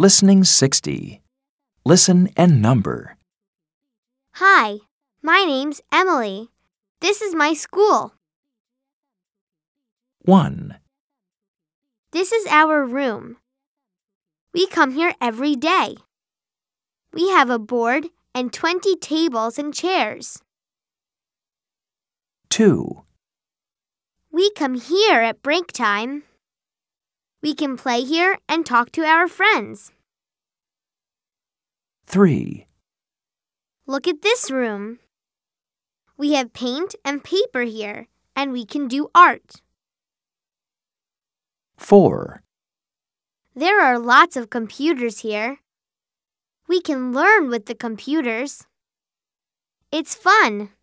Listening 60. Listen and number. Hi, my name's Emily. This is my school. 1, This is our room. We come here every day. We have a board and 20 tables and chairs. 2, We come here at break time. We can play here and talk to our friends. 3, Look at this room. We have paint and paper here, and we can do art. 4, There are lots of computers here. We can learn with the computers. It's fun.